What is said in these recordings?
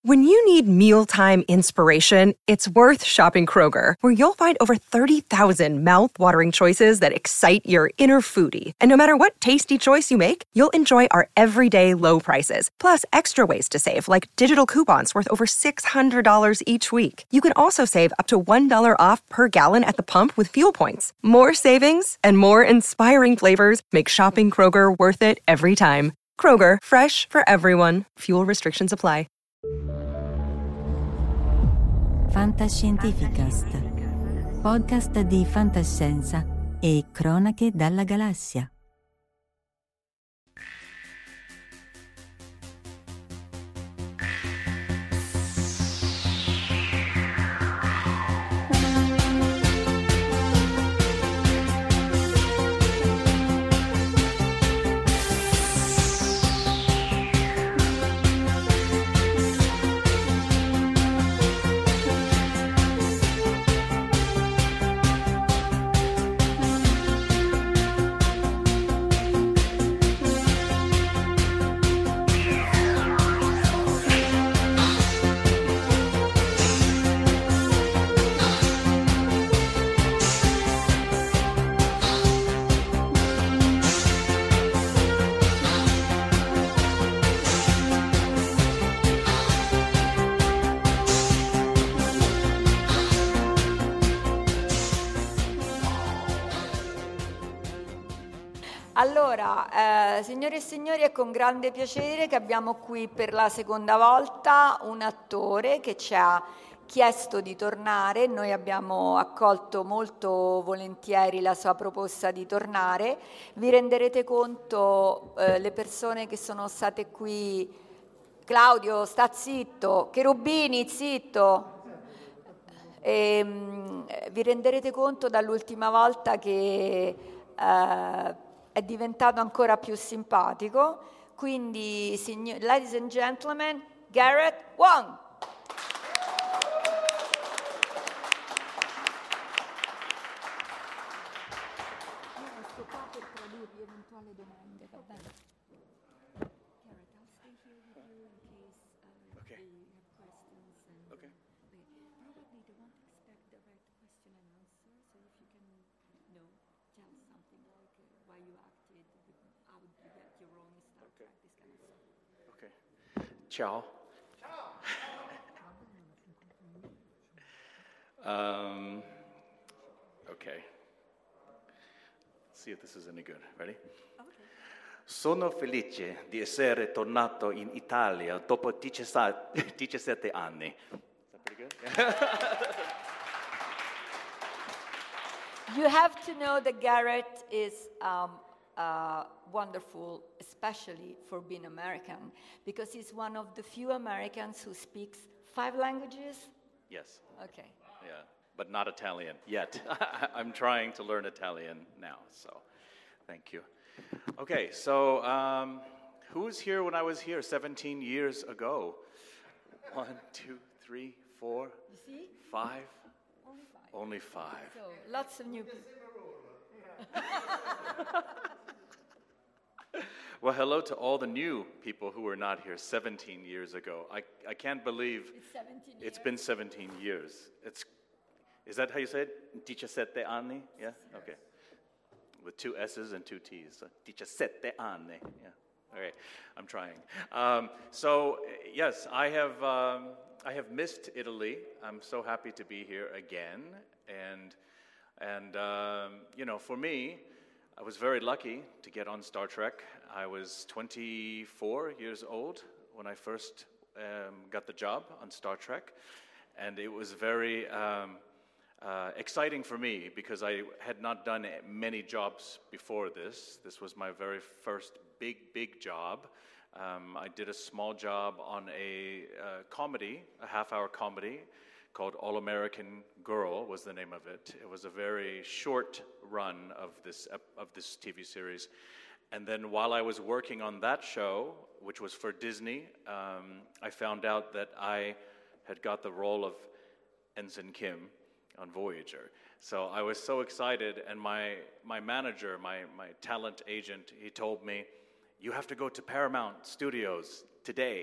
When you need mealtime inspiration, it's worth shopping Kroger, where you'll find over 30,000 mouth-watering choices that excite your inner foodie. And no matter what tasty choice you make, you'll enjoy our everyday low prices, plus extra ways to save, like digital coupons worth over $600 each week. You can also save up to $1 off per gallon at the pump with fuel points. More savings and more inspiring flavors make shopping Kroger worth it every time. Kroger, fresh for everyone. Fuel restrictions apply. Fantascientificast, podcast di fantascienza e cronache dalla galassia. Allora, signore e signori, è con grande piacere che abbiamo qui per la seconda volta un attore che ci ha chiesto di tornare. Noi abbiamo accolto molto volentieri la sua proposta di tornare. Vi renderete conto, le persone che sono state qui, Claudio, sta zitto, Cherubini, zitto. Vi renderete conto dall'ultima volta che è diventato ancora più simpatico. Quindi, ladies and gentlemen, Garrett Wang. Sto qua per tradurvi eventuali domande, va bene? Garrett, I'll stay here with you in case Okay. you have questions. Okay. Probably they won't expect direct question and answer, so if you can, tell something like why you acted, how did you get your role in Star Trek, this kind of stuff. Okay. Ciao. Okay. Let's see if this is any good. Ready? Okay. Sono felice di essere tornato in Italia dopo 17 anni. Is that pretty good? You have to know that Garrett is wonderful, especially for being American, because he's one of the few Americans who speaks 5 languages. Yes. Okay. Yeah, but not Italian yet. I'm trying to learn Italian now, so thank you. Okay, so who was here when I was here 17 years ago? 1, 2, 3, 4, You see? 5? Only 5. Only 5. So lots of new people. Well, hello to all the new people who were not here 17 years ago. I can't believe It's 17 years. it's been 17 years. Is that how you say it? 17 anni? Yeah? Okay. With 2 S's and 2 T's. So 17 anni. Yeah. Okay. I'm trying. Yes, I have missed Italy. I'm so happy to be here again. And for me, I was very lucky to get on Star Trek. I was 24 years old when I first got the job on Star Trek, and it was very exciting for me because I had not done many jobs before this. This was my very first big job. I did a small job on a comedy, a half-hour comedy, called All American Girl was the name of it. It was a very short run of this TV series. And then while I was working on that show, which was for Disney, I found out that I had got the role of Ensign Kim on Voyager. So I was so excited, and my manager, my talent agent, he told me, "You have to go to Paramount Studios today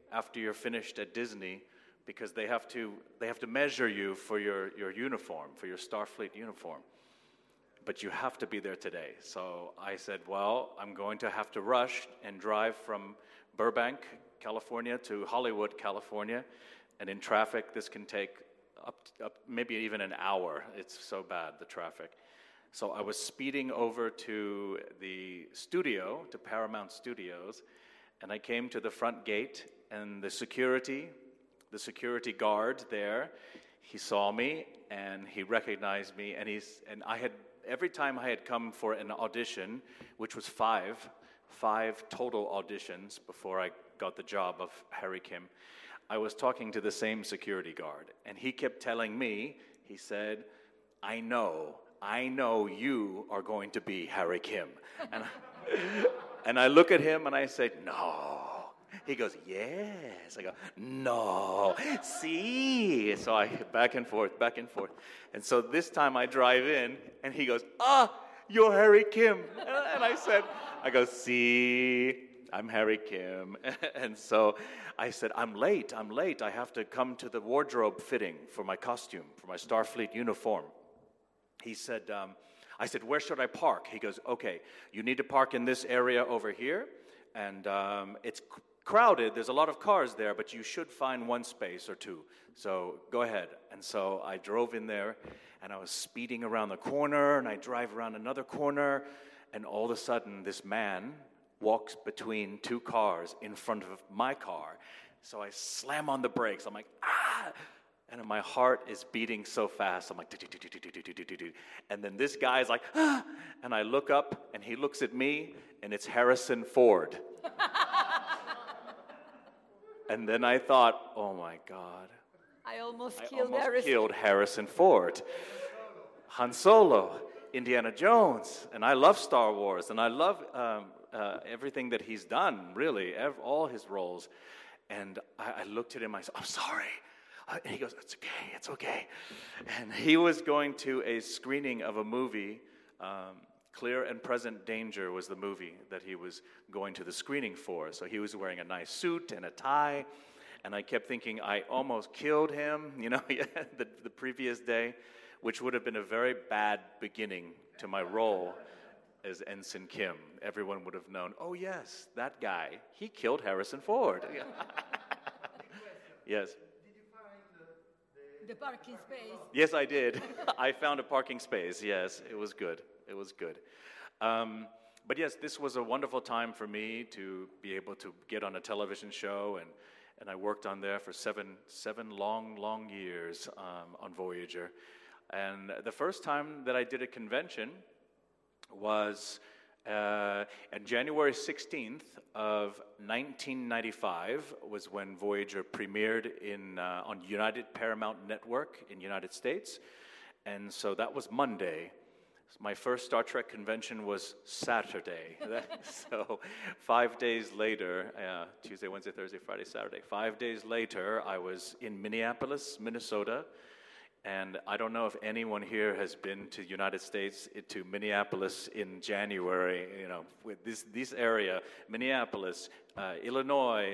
after you're finished at Disney, because they have to measure you for your uniform, for your Starfleet uniform. But you have to be there today. So I said, well, I'm going to have to rush and drive from Burbank, California to Hollywood, California. And in traffic, this can take up maybe even an hour. It's so bad, the traffic. So I was speeding over to the studio, to Paramount Studios, and I came to the front gate, and the security guard there, he saw me, and he recognized me, and every time I had come for an audition, which was five total auditions before I got the job of Harry Kim, I was talking to the same security guard, and he kept telling me, he said, I know you are going to be Harry Kim. And I look at him and I say, no. He goes, yes. I go, no. See? So I back and forth. And so this time I drive in and he goes, you're Harry Kim. And I go, see, I'm Harry Kim. And so I said, I'm late. I have to come to the wardrobe fitting for my costume, for my Starfleet uniform. He said, I said, where should I park? He goes, okay, you need to park in this area over here, and it's crowded. There's a lot of cars there, but you should find one space or two. So go ahead. And so I drove in there, and I was speeding around the corner, and I drive around another corner, and all of a sudden, this man walks between two cars in front of my car. So I slam on the brakes. I'm like, ah! And my heart is beating so fast. I'm like, and then this guy's like, ah! And I look up, and he looks at me, and it's Harrison Ford. And then I thought, oh my God. I almost killed Harrison Ford. Han Solo, Indiana Jones. And I love Star Wars, and I love everything that he's done, really, all his roles. And I looked at him, I said, I'm sorry. And he goes, it's okay. And he was going to a screening of a movie, Clear and Present Danger was the movie that he was going to the screening for. So he was wearing a nice suit and a tie, and I kept thinking I almost killed him, the previous day, which would have been a very bad beginning to my role as Ensign Kim. Everyone would have known, oh yes, that guy, he killed Harrison Ford. Yes. The parking space? Yes, I did. I found a parking space, yes. It was good. But yes, this was a wonderful time for me to be able to get on a television show, and I worked on there for seven long years on Voyager. And the first time that I did a convention was on January 16th of 1995 was when Voyager premiered on United Paramount Network in the United States. And so that was Monday. My first Star Trek convention was Saturday. So 5 days later, Tuesday, Wednesday, Thursday, Friday, Saturday, 5 days later, I was in Minneapolis, Minnesota. And I don't know if anyone here has been to the United States, to Minneapolis in January, with this area, Minneapolis, Illinois,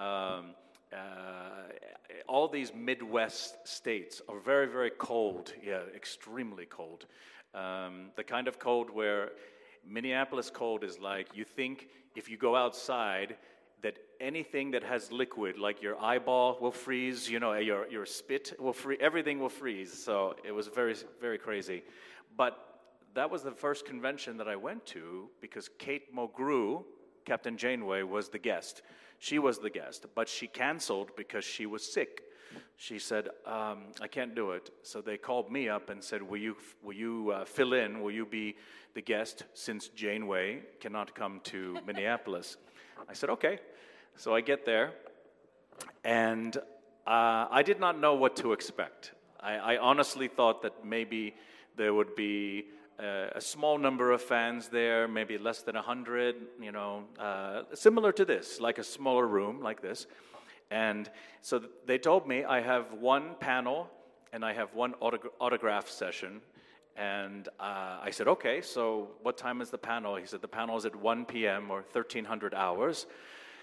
all these Midwest states are very, very cold, extremely cold. The kind of cold where Minneapolis cold is like, you think if you go outside, that anything that has liquid, like your eyeball will freeze, your spit will freeze, everything will freeze. So it was very, very crazy. But that was the first convention that I went to because Kate Mulgrew, Captain Janeway, was the guest. She was the guest, but she canceled because she was sick. She said, I can't do it. So they called me up and said, will you fill in? Will you be the guest since Janeway cannot come to Minneapolis? I said, okay. So I get there, and I did not know what to expect. I honestly thought that maybe there would be a small number of fans there, maybe less than 100, similar to this, like a smaller room like this. And so they told me I have one panel and I have one autograph session. And I said, okay, so what time is the panel? He said, the panel is at 1 p.m. or 1300 hours.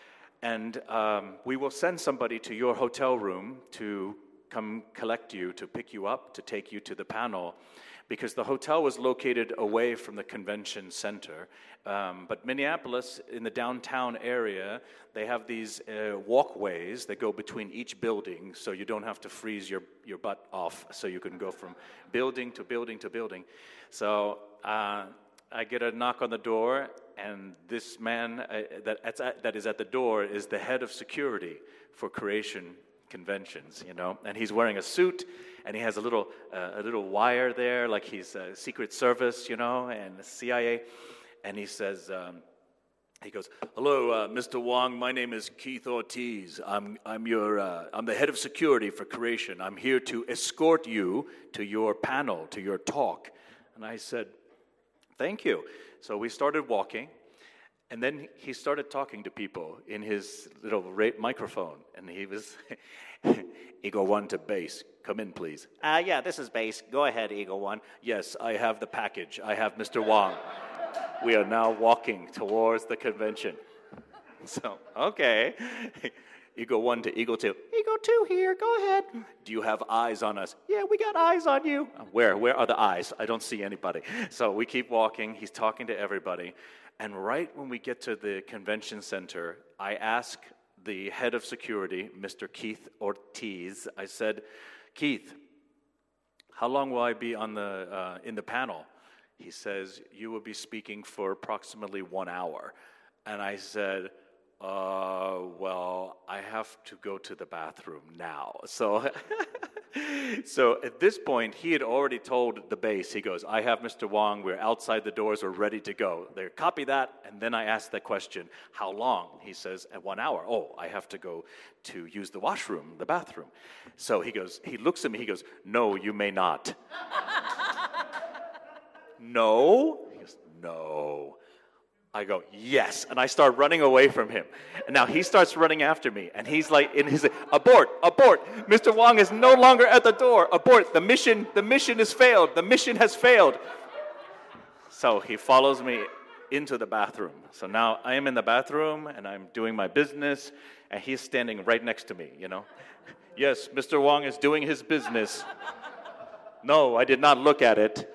and we will send somebody to your hotel room to come collect you, to pick you up, to take you to the panel, because the hotel was located away from the convention center. But Minneapolis, in the downtown area, they have these walkways that go between each building, so you don't have to freeze your butt off, so you can go from building to building to building. So I get a knock on the door, and this man that is at the door is the head of security for Creation Conventions, you know, and he's wearing a suit, and he has a little wire there, like he's a Secret Service, you know, and the CIA, and he says, he goes, "Hello, Mr. Wong. My name is Keith Ortiz. I'm the head of security for Creation. I'm here to escort you to your panel, to your talk." And I said, "Thank you." So we started walking, and then he started talking to people in his little microphone, and he was, "Eagle 1 to base. Come in, please." Yeah, this is base. Go ahead, Eagle 1. "Yes, I have the package. I have Mr. Wong." We are now walking towards the convention. So, okay. Eagle 1 to Eagle 2. "Eagle 2 here, go ahead." "Do you have eyes on us?" "Yeah, we got eyes on you." Where are the eyes? I don't see anybody. So we keep walking. He's talking to everybody. And right when we get to the convention center, I ask the head of security, Mr. Keith Ortiz, I said, "Keith, how long will I be on in the panel?" He says, "You will be speaking for approximately 1 hour." And I said, well, I have to go to the bathroom now. So at this point, he had already told the base, he goes, "I have Mr. Wong, we're outside the doors, we're ready to go." They copy that, and then I asked the question, "How long?" He says, "At 1 hour." "Oh, I have to go to use the washroom, the bathroom." So he looks at me, he goes, "No, you may not." "No?" He goes, "No." I go, "Yes," and I start running away from him. And now he starts running after me, and he's like, abort, Mr. Wong is no longer at the door, abort, the mission has failed, the mission has failed. So he follows me into the bathroom. So now I am in the bathroom, and I'm doing my business, and he's standing right next to me, you know. "Yes, Mr. Wong is doing his business." "No, I did not look at it.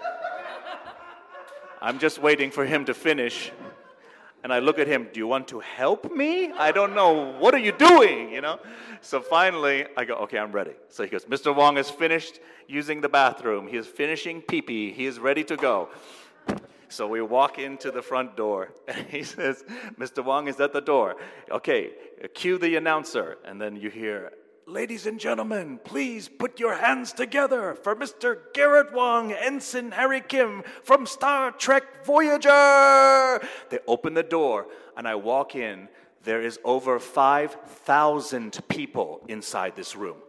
I'm just waiting for him to finish." And I look at him, "Do you want to help me? I don't know. What are you doing?" You know? So finally, I go, "Okay, I'm ready." So he goes, "Mr. Wong has finished using the bathroom. He is finishing pee-pee. He is ready to go." So we walk into the front door, and he says, "Mr. Wong is at the door. Okay, cue the announcer." And then you hear, "Ladies and gentlemen, please put your hands together for Mr. Garrett Wong, Ensign Harry Kim from Star Trek Voyager." They open the door, and I walk in. There is over 5,000 people inside this room.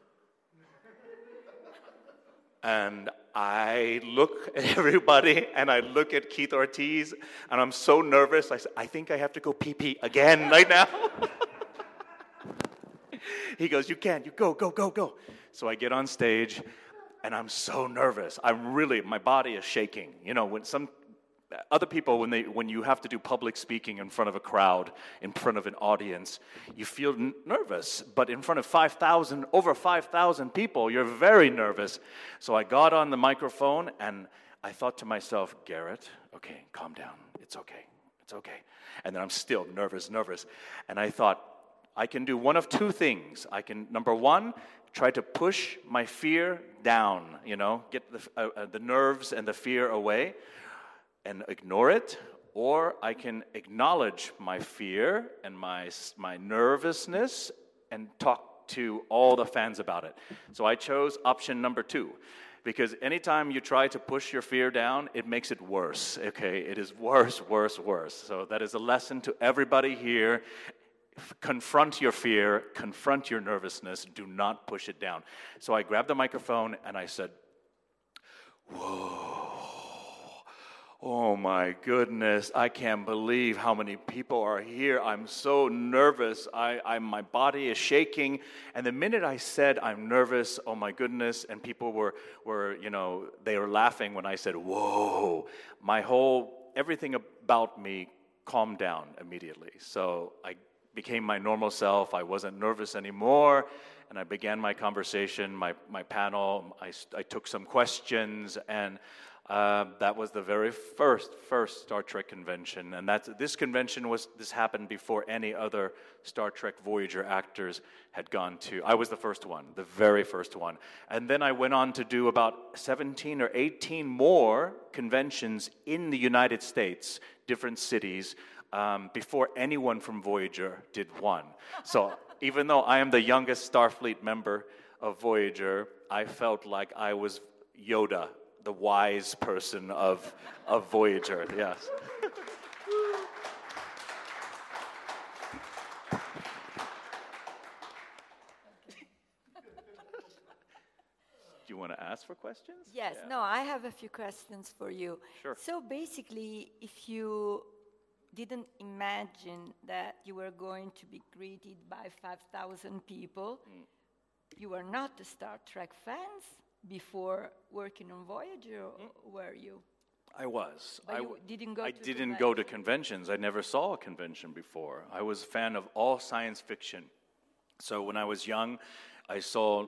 And I look at everybody, and I look at Keith Ortiz, and I'm so nervous. I said, "I think I have to go pee-pee again right now." He goes, "You can't. You go. So I get on stage, and I'm so nervous. My body is shaking. You know, when some other people, when you have to do public speaking in front of a crowd, in front of an audience, you feel nervous. But in front of over 5,000 people, you're very nervous. So I got on the microphone, and I thought to myself, "Garrett, okay, calm down. It's okay. And then I'm still nervous. And I thought, I can do one of two things. I can, number one, try to push my fear down, you know, get the nerves and the fear away and ignore it, or I can acknowledge my fear and my nervousness and talk to all the fans about it. So I chose option number 2. Because anytime you try to push your fear down, it makes it worse, okay? It is worse. So that is a lesson to everybody here. Confront your fear, confront your nervousness, do not push it down. So I grabbed the microphone and I said, "Whoa, oh my goodness, I can't believe how many people are here. I'm so nervous, my body is shaking." And the minute I said I'm nervous, oh my goodness, and people were they were laughing when I said, "Whoa," everything about me calmed down immediately. So I became my normal self. I wasn't nervous anymore, and I began my conversation, my panel. I took some questions, and that was the very first Star Trek convention. And this convention happened before any other Star Trek Voyager actors had gone to. I was the first one, the very first one. And then I went on to do about 17 or 18 more conventions in the United States, different cities, before anyone from Voyager did one. So even though I am the youngest Starfleet member of Voyager, I felt like I was Yoda, the wise person of Voyager, yes. Do you want to ask for questions? Yes, yeah. No, I have a few questions for you. Sure. So basically, if you didn't imagine that you were going to be greeted by 5,000 people, you were not a Star Trek fans before working on Voyager, or were you? I was. But you didn't go I to didn't go to conventions. I never saw a convention before. I was a fan of all science fiction. So when I was young, I saw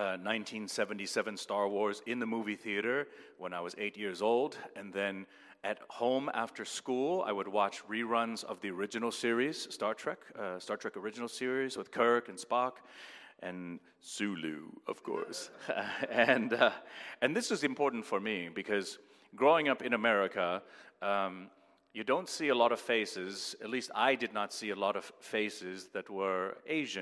1977 Star Wars in the movie theater when I was 8 years old. And then at home after school, I would watch reruns of the original series, Star Trek original series with Kirk and Spock. And Sulu, of course. And this is important for me because growing up in America, you don't see a lot of faces, at least I did not see a lot of faces that were Asian.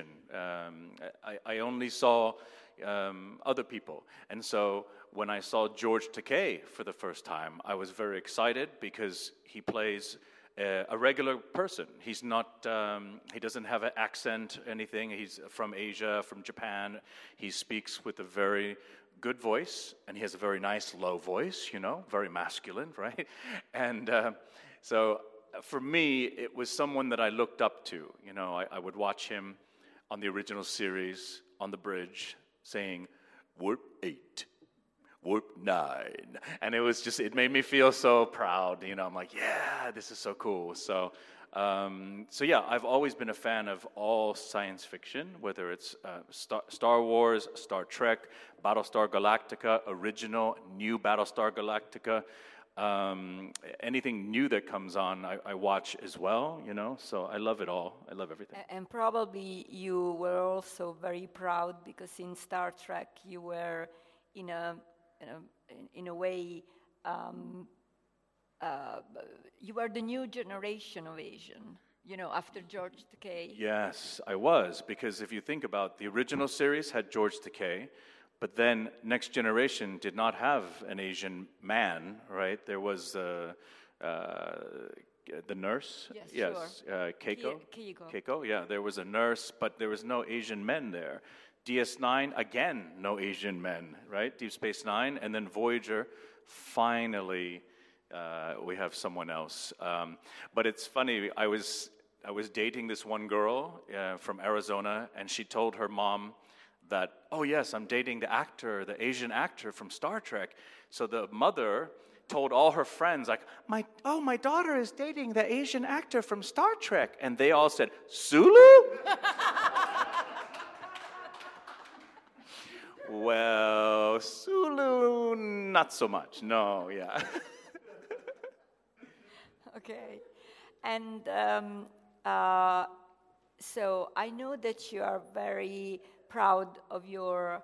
I only saw other people. And so when I saw George Takei for the first time, I was very excited because he plays a regular person. He's not, he doesn't have an accent or anything. He's from Asia, from Japan. He speaks with a very good voice, and he has a very nice low voice, very masculine, right? And so for me, it was someone that I looked up to. I would watch him on the original series, on the bridge, saying, "Warp 8. Warp 9," and it made me feel so proud. I'm like, yeah, this is so cool. So yeah, I've always been a fan of all science fiction, whether it's Star Wars, Star Trek, Battlestar Galactica, original, new Battlestar Galactica. Anything new that comes on, I watch as well, so I love it all. I love everything. And probably you were also very proud because in Star Trek you were in a way, you were the new generation of Asian, after George Takei. Yes, I was, because if you think about the original series had George Takei, but then Next Generation did not have an Asian man, right? There was the nurse. Yes, sure. Keiko. Keiko, yeah, there was a nurse, but there was no Asian men there. DS9, again, no Asian men, right? Deep Space Nine, and then Voyager, finally, we have someone else. But it's funny, I was dating this one girl from Arizona, and she told her mom that, oh yes, I'm dating the Asian actor from Star Trek. So the mother told all her friends, like, my daughter is dating the Asian actor from Star Trek. And they all said, Sulu? Well, Sulu, not so much. No, yeah. Okay. And so I know that you are very proud of your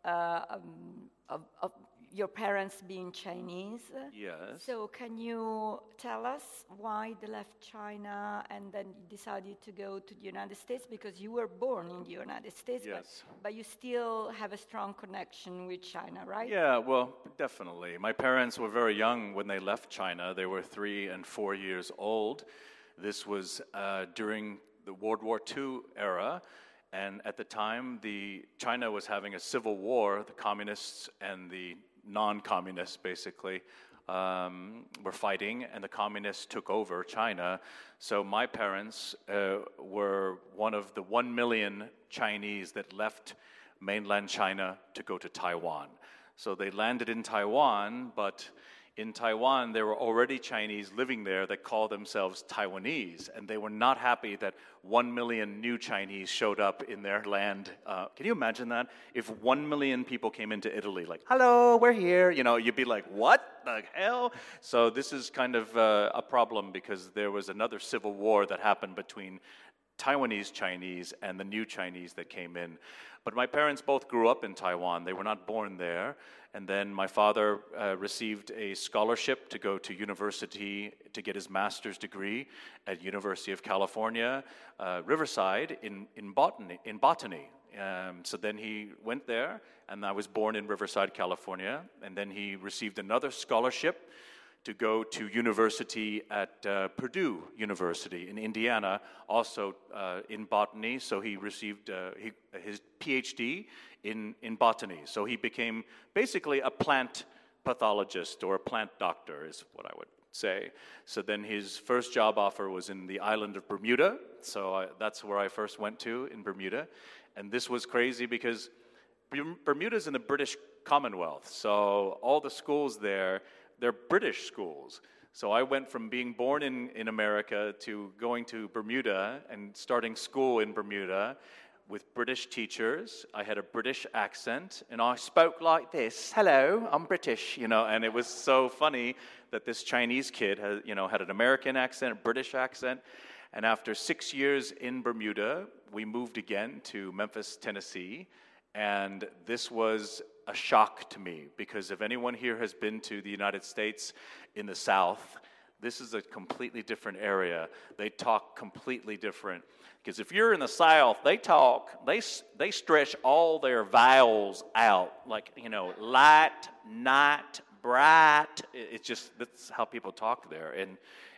parents being Chinese. Yes. So can you tell us why they left China and then decided to go to the United States? Because you were born in the United States, yes. but you still have a strong connection with China, right? Yeah, well, definitely. My parents were very young when they left China. They were 3 and 4 years old. This was during the World War II era. And at the time, China was having a civil war. The communists and the non-communists, basically, were fighting, and the communists took over China. So my parents were one of the 1 million Chinese that left mainland China to go to Taiwan. So they landed in Taiwan, but in Taiwan, there were already Chinese living there that called themselves Taiwanese, and they were not happy that 1 million new Chinese showed up in their land. Can you imagine that? If 1 million people came into Italy, like, hello, we're here, you'd be like, what the hell? So this is kind of a problem because there was another civil war that happened between Taiwanese Chinese and the new Chinese that came in. But my parents both grew up in Taiwan. They were not born there. And then my father received a scholarship to go to university to get his master's degree at University of California, Riverside in botany. So then he went there, and I was born in Riverside, California. And then he received another scholarship to go to university at Purdue University in Indiana, also in botany. So he received his PhD in botany. So he became basically a plant pathologist or a plant doctor is what I would say. So then his first job offer was in the island of Bermuda. So that's where I first went to, in Bermuda. And this was crazy because Bermuda's in the British Commonwealth. So all the schools there, they're British schools. So I went from being born in America to going to Bermuda and starting school in Bermuda with British teachers. I had a British accent, and I spoke like this. Hello, I'm British, and it was so funny that this Chinese kid had an American accent, a British accent. And after 6 years in Bermuda, we moved again to Memphis, Tennessee, and this was a shock to me, because if anyone here has been to the United States in the South, this is a completely different area. They talk completely different. Because if you're in the South, they stretch all their vowels out, like, light, night, bright. It's just, that's how people talk there. And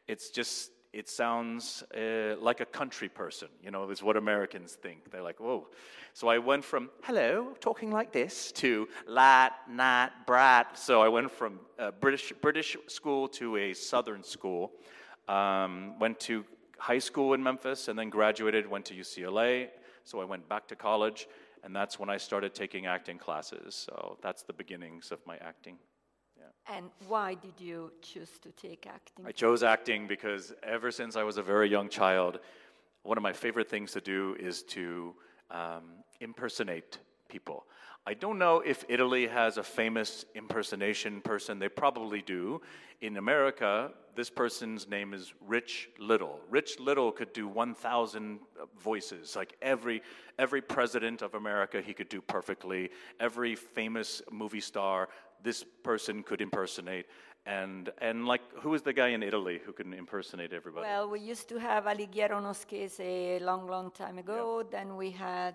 it sounds like a country person, is what Americans think. They're like, whoa. So I went from, hello, talking like this, to light, night, bright. So I went from British school to a Southern school. Went to high school in Memphis and then graduated, went to UCLA. So I went back to college, and that's when I started taking acting classes. So that's the beginnings of my acting. And why did you choose to take acting? I chose acting because ever since I was a very young child, one of my favorite things to do is to impersonate people. I don't know if Italy has a famous impersonation person. They probably do. In America, this person's name is Rich Little. Rich Little could do 1,000 voices. Like every president of America, he could do perfectly. Every famous movie star, this person could impersonate. And like, who is the guy in Italy who can impersonate everybody? Well, we used to have Alighiero Noschese a long time ago. Yeah. Then we had,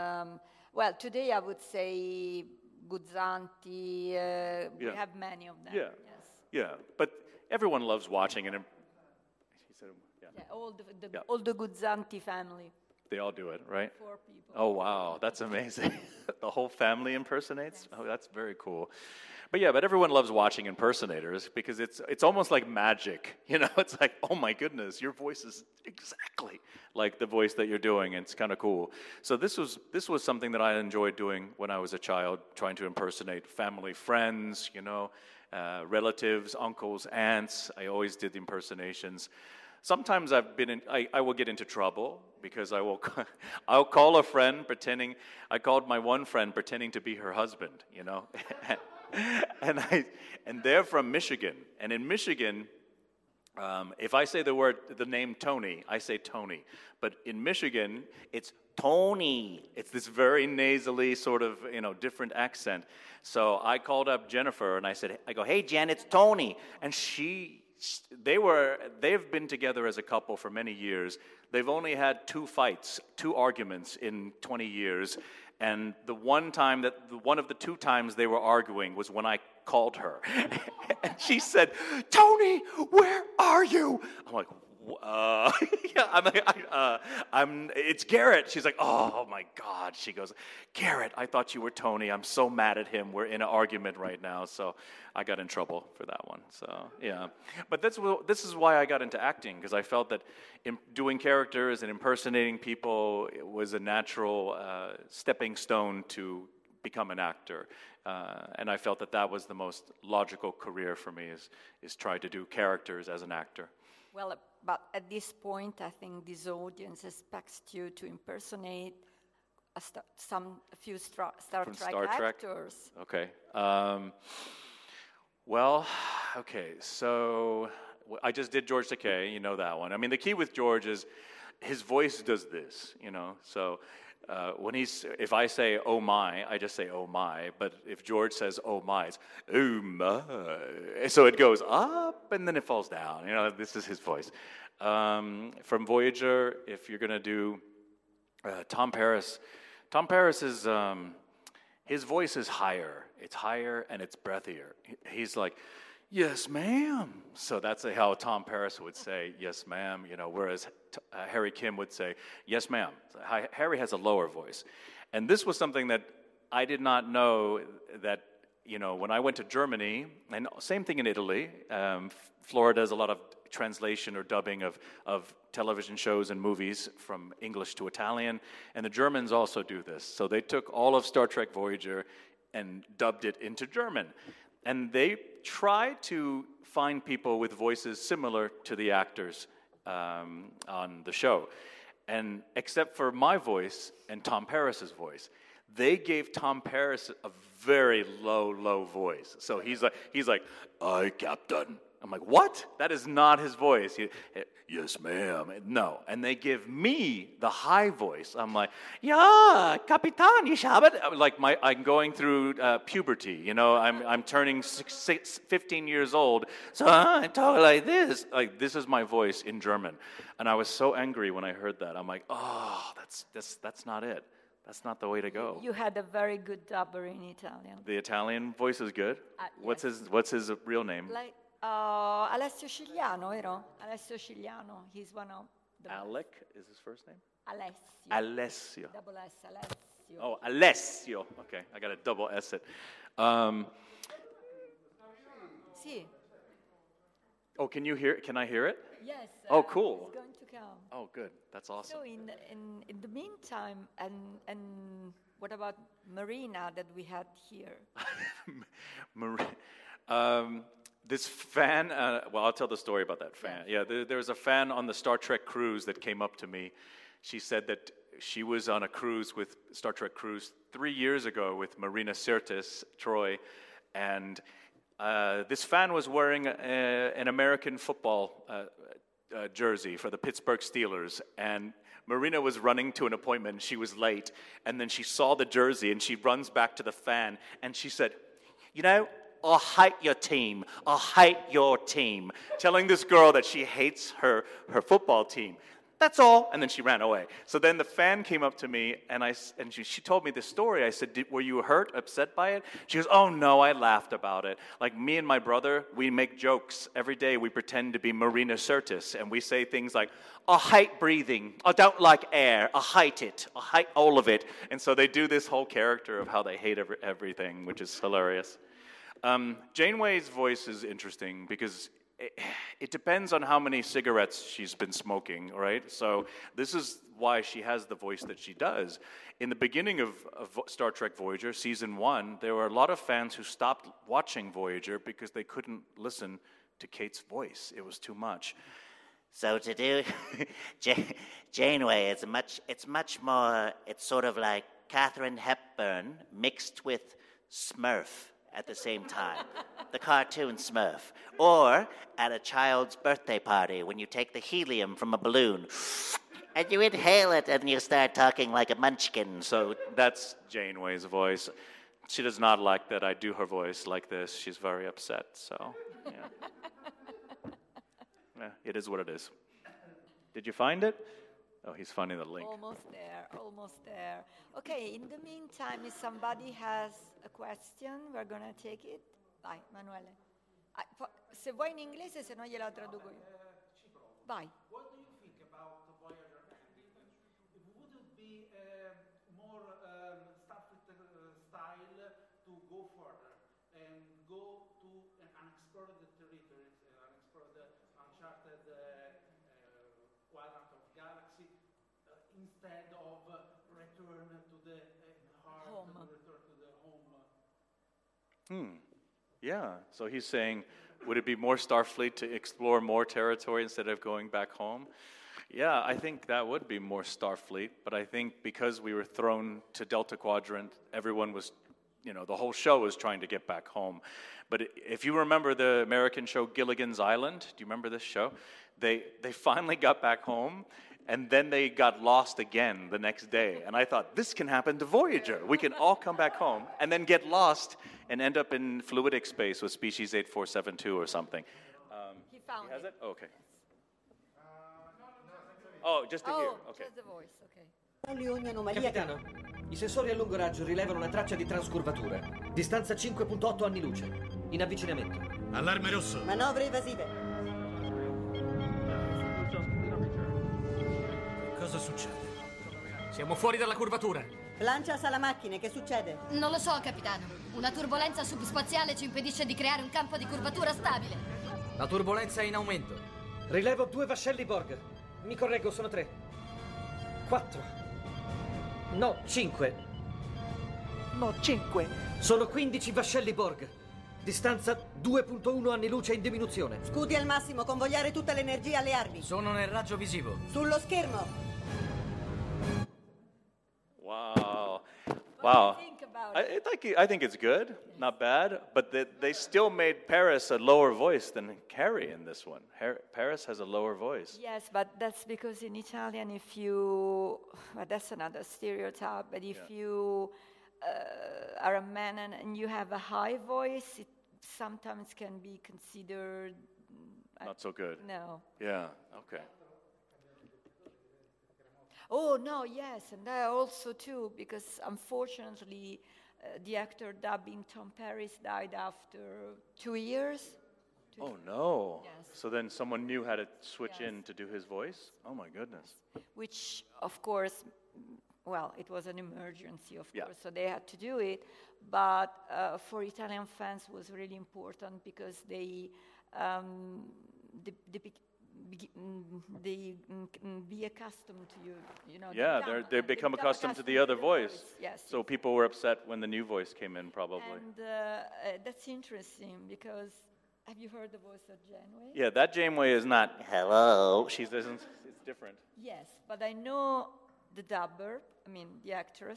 today I would say Guzzanti. We have many of them. Yeah. Yes. Yeah, but everyone loves watching it. He said, all the Guzzanti family. They all do it, right? 4 people. Oh, wow, that's amazing. The whole family impersonates? Yes. Oh, that's very cool. But everyone loves watching impersonators because it's almost like magic, It's like, oh my goodness, your voice is exactly like the voice that you're doing. And it's kind of cool. So this was something that I enjoyed doing when I was a child, trying to impersonate family, friends, relatives, uncles, aunts. I always did the impersonations. Sometimes I will get into trouble because I'll call a friend pretending. I called my one friend pretending to be her husband, and they're from Michigan. And in Michigan, if I say the name Tony, I say Tony. But in Michigan, it's Tony. It's this very nasally sort of, different accent. So I called up Jennifer and I go, hey Jen, it's Tony. And they've been together as a couple for many years. They've only had 2 fights, 2 arguments in 20 years. And one of the 2 times they were arguing was when I called her. And she said, Tony, where are you? I'm like, it's Garrett. She's like, oh my God. She goes, Garrett, I thought you were Tony. I'm so mad at him. We're in an argument right now. So I got in trouble for that one. So, yeah. But this is why I got into acting, because I felt that doing characters and impersonating people was a natural stepping stone to become an actor. And I felt that was the most logical career for me, is try to do characters as an actor. Well, but at this point, I think this audience expects you to impersonate a few Star Trek actors. Okay. Well, okay, so I just did George Takei, you know that one. I mean, the key with George is his voice does this, you know. So if I say "oh my," I just say "oh my." But if George says "oh my," it's "oh my." So it goes up and then it falls down. You know, this is his voice. From Voyager, if you're gonna do Tom Paris is his voice is higher. It's higher and it's breathier. He's like, "Yes, ma'am." So that's how Tom Paris would say, "Yes, ma'am," you know, whereas Harry Kim would say, "Yes, ma'am." So Harry has a lower voice. And this was something that I did not know, that, you know, when I went to Germany, and same thing in Italy, Florida does a lot of translation or dubbing of television shows and movies from English to Italian, and the Germans also do this. So they took all of Star Trek Voyager and dubbed it into German. And they tried to find people with voices similar to the actors on the show. And except for my voice and Tom Paris's voice, they gave Tom Paris a very low voice. So he's like, "Aye, Captain." I'm like, "What? That is not his voice." "Yes, ma'am." No. And they give me the high voice. I'm like, "Yeah, Capitan, ich habe it." Like I'm going through puberty. You know, I'm turning 15 years old. So I talk like this. Like, this is my voice in German. And I was so angry when I heard that. I'm like, "Oh, that's not it. That's not the way to go." You had a very good dubber in Italian. The Italian voice is good? Yes. What's his real name? Alessio Cigliano, vero? Alessio Cigliano. He's one of the Alec is his first name? Alessio. Alessio. Double S, Alessio. Oh, Alessio. Okay, I got to double S it. Sì. Oh, can I hear it? Yes. Oh, cool. It's going to come. Oh, good. That's awesome. So in the meantime, and what about Marina that we had here? This fan, well, I'll tell the story about that fan. Yeah, there was a fan on the Star Trek cruise that came up to me. She said that she was on a cruise with Star Trek cruise 3 years ago with Marina Sirtis, Troy, and this fan was wearing an American football jersey for the Pittsburgh Steelers, and Marina was running to an appointment. She was late, and then she saw the jersey, and she runs back to the fan, and she said, "You know, I hate your team. I hate your team." Telling this girl that she hates her football team. That's all. And then she ran away. So then the fan came up to me, and she told me this story. I said, "Were you hurt, upset by it?" She goes, "Oh, no, I laughed about it. Like, me and my brother, we make jokes. Every day we pretend to be Marina Sirtis, and we say things like, 'I hate breathing. I don't like air. I hate it. I hate all of it.'" And so they do this whole character of how they hate everything, which is hilarious. Janeway's voice is interesting because it depends on how many cigarettes she's been smoking, right? So this is why she has the voice that she does. In the beginning of Star Trek Voyager, Season 1, there were a lot of fans who stopped watching Voyager because they couldn't listen to Kate's voice. It was too much. So to do Janeway, it's much more, it's sort of like Katharine Hepburn mixed with Smurf at the same time, the cartoon Smurf. Or at a child's birthday party when you take the helium from a balloon and you inhale it and you start talking like a munchkin. So that's Janeway's voice. She does not like that I do her voice like this. She's very upset, so yeah. Yeah, it is what it is. Did you find it? Oh, he's finding the link. Almost there. Okay, in the meantime, if somebody has a question, we're going to take it. Vai, Emanuele. Se vuoi in inglese, se no gliela traduco io. Vai. What do you think about Voyager ending? Would it be more Starfleet style to go further and go to an unexplored territories, unexplored, uncharted quadrant of galaxy, instead of return to the heart, Home. return to the Yeah. So he's saying, would it be more Starfleet to explore more territory instead of going back home? Yeah, I think that would be more Starfleet, but I think because we were thrown to Delta Quadrant, everyone was, the whole show was trying to get back home. But if you remember the American show Gilligan's Island, do you remember this show? They finally got back home, and then they got lost again the next day. And I thought, this can happen to Voyager. We can all come back home and then get lost and end up in fluidic space with species 8472 or something. He found has it. it? Okay. Oh, just to hear. Okay. Just the voice, okay. Ogni anomalia Capitano, i sensori a lungo raggio rilevano una traccia di transcurvatura. Distanza 5.8 anni luce. In avvicinamento. Allarme rosso. manovre evasive. Cosa succede? Siamo fuori dalla curvatura. Lancia sala macchine, che succede? Non lo so, capitano. Una turbolenza subspaziale ci impedisce di creare un campo di curvatura stabile. La turbolenza è in aumento. Rilevo 2 vascelli Borg. Mi correggo, sono 3. 4. No, 5. No, 5. Sono 15 vascelli Borg. Distanza 2.1 anni luce in diminuzione. Scudi al massimo, convogliare tutta l'energia alle armi. Sono nel raggio visivo. Sullo schermo. Wow. What do you think about it? I think it's good, not bad, but they still made Paris a lower voice than Carrie in this one. Paris has a lower voice. Yes, but that's because in Italian, well, that's another stereotype, but if you are a man and you have a high voice, it sometimes can be considered... Not so good. No. Yeah, okay. Oh, no, yes, and that also too, because unfortunately the actor dubbing Tom Paris died after 2 years. Oh, no. Yes. So then someone new had to switch Yes. in to do his voice? Oh, my goodness. Which, of course, well, it was an emergency, of Yeah. course, so they had to do it. But for Italian fans, it was really important because they be accustomed to you know. Yeah, they become accustomed to the other voice. Yes. So people were upset when the new voice came in, probably. And that's interesting because have you heard the voice of Janeway? Yeah, that Janeway is not hello. It's different. Yes, but I know the dubber. I mean, the actor.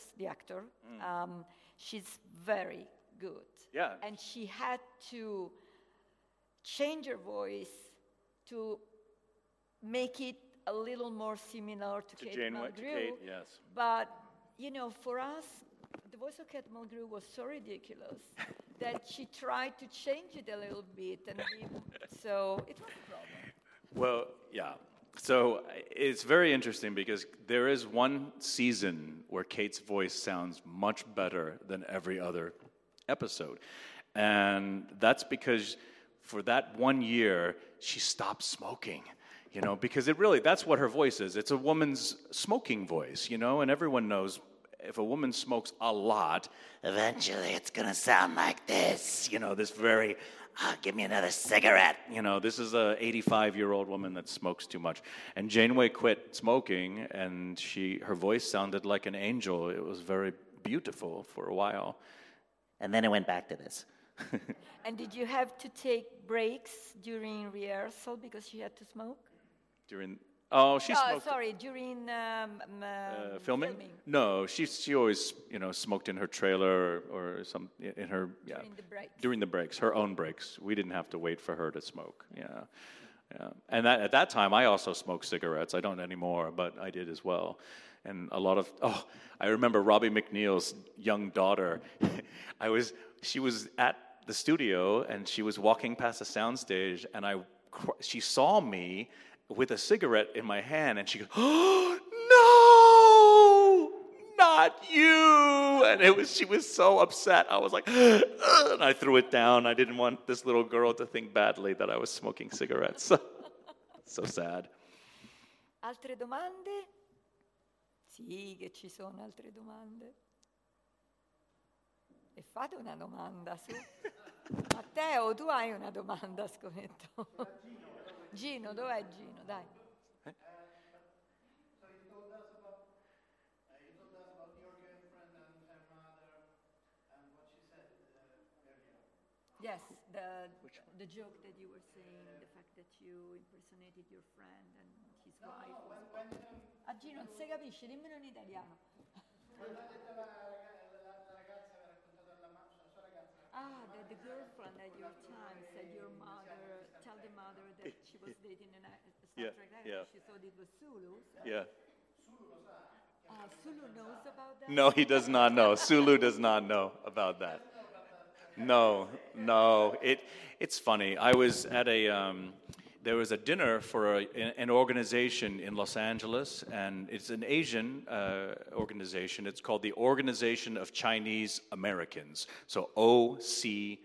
She's very good. Yeah. And she had to change her voice to make it a little more similar to Kate Janeway, to Mulgrew. Kate, yes. But, for us, the voice of Kate Mulgrew was so ridiculous that she tried to change it a little bit, and so it was a problem. Well, yeah. So it's very interesting because there is one season where Kate's voice sounds much better than every other episode. And that's because for that 1 year, she stopped smoking. Because that's what her voice is. It's a woman's smoking voice, and everyone knows if a woman smokes a lot, eventually it's going to sound like this, this very, give me another cigarette. This is a 85-year-old woman that smokes too much. And Janeway quit smoking, and her voice sounded like an angel. It was very beautiful for a while. And then it went back to this. And did you have to take breaks during rehearsal because she had to smoke? She smoked. Sorry, during Filming? No, she always smoked in her trailer or some in her During the breaks. During the breaks, her own breaks. We didn't have to wait for her to smoke. Yeah. And at that time, I also smoked cigarettes. I don't anymore, but I did as well. And I remember Robbie McNeil's young daughter. She was at the studio and she was walking past the soundstage, and she saw me with a cigarette in my hand, and she goes, "Oh, no, not you!" And she was so upset. I was like, "Ugh," and I threw it down. I didn't want this little girl to think badly that I was smoking cigarettes. So sad. Altre domande? Sì, che ci sono altre domande. E fate una domanda, su. Matteo, tu hai una domanda, scommetto. Gino, dov'è Gino? Dai. So you told us about your girlfriend and her mother and what she said earlier. Yes, the joke that you were saying, the fact that you impersonated your friend and his wife. A G non si capisce, dimmelo in italiano. The girlfriend at your time said your mother, tell the mother that she was dating a Star Trek actor. She thought it was Sulu. So. Yeah. Sulu knows about that? No, he does not know. Sulu does not know about that. No. It's funny. I was at there was a dinner for an organization in Los Angeles, and it's an Asian organization. It's called the Organization of Chinese Americans, so OCA.